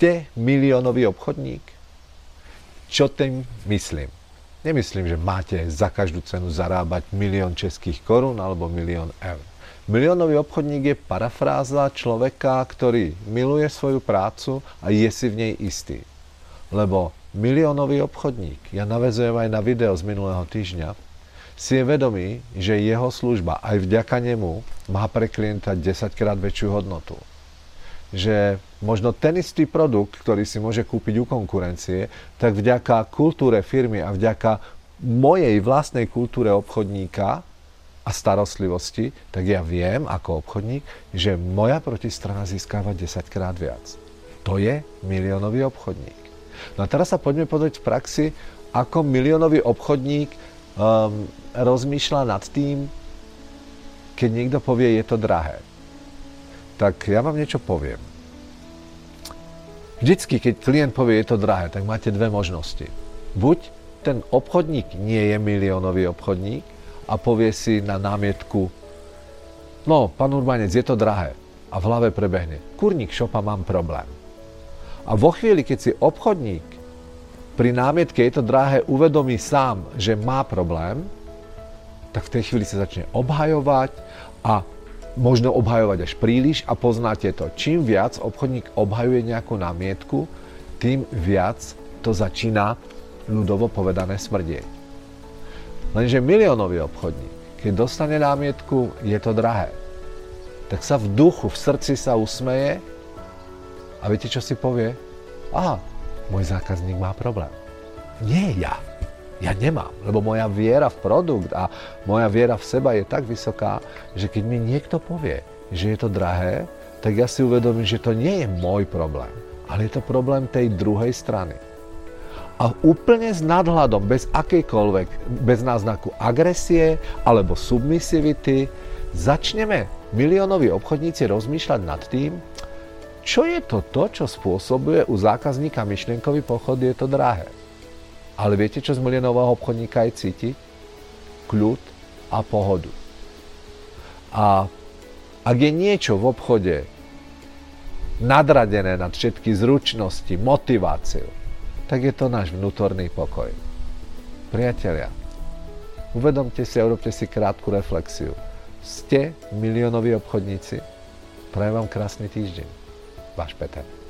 Ste miliónový obchodník? Čo tým myslím? Nemyslím, že máte za každú cenu zarábať 1 000 000 českých korún alebo 1 000 000 eur. Miliónový obchodník je parafráza človeka, ktorý miluje svoju prácu a je si v nej istý. Lebo miliónový obchodník, ja naväzujem aj na video z minulého týždňa, si je vedomý, že jeho služba aj vďaka nemu má pre klienta 10-krát väčšiu hodnotu. Že možno ten istý produkt, ktorý si môže kúpiť u konkurencie, tak vďaka kultúre firmy a vďaka mojej vlastnej kultúre obchodníka a starostlivosti, tak ja viem ako obchodník, že moja protistrana získava 10-krát viac. To je miliónový obchodník. No a teraz sa poďme pozrieť v praxi, ako miliónový obchodník rozmýšľa nad tým, keď niekto povie, je to drahé. Tak ja vám niečo poviem. Vždycky, keď klient povie, je to drahé, tak máte dve možnosti. Buď ten obchodník nie je miliónový obchodník a povie si na námietku, no, pán Urbanec, je to drahé. A v hlave prebehne, kurník šopa, mám problém. A vo chvíli, keď si obchodník pri námietke, je to drahé, uvedomí sám, že má problém, tak v tej chvíli sa začne obhajovať a možno obhajovať až príliš a poznáte to. Čím viac obchodník obhajuje nejakú námietku, tým viac to začína ľudovo povedané smrdieť. Lenže miliónový obchodník, keď dostane námietku, je to drahé, tak sa v duchu, v srdci sa usmeje a viete, čo si povie? Aha, môj zákazník má problém. Nie ja. Ja nemám, lebo moja viera v produkt a moja viera v seba je tak vysoká, že keď mi niekto povie, že je to drahé, tak ja si uvedomím, že to nie je môj problém, ale je to problém tej druhej strany. A úplne s nadhľadom, bez akejkoľvek, bez náznaku agresie alebo submisivity, začneme miliónoví obchodníci rozmýšľať nad tým, čo je to, čo spôsobuje u zákazníka myšlienkový pochod, je to drahé. Ale viete, čo z miliónového obchodníka aj cíti? Kľud a pohodu. A ak je niečo v obchode nadradené nad všetky zručnosti, motiváciu, tak je to náš vnútorný pokoj. Priatelia, uvedomte si a urobte si krátku reflexiu. Ste miliónoví obchodníci? Prajem vám krásny týždeň. Váš Peter.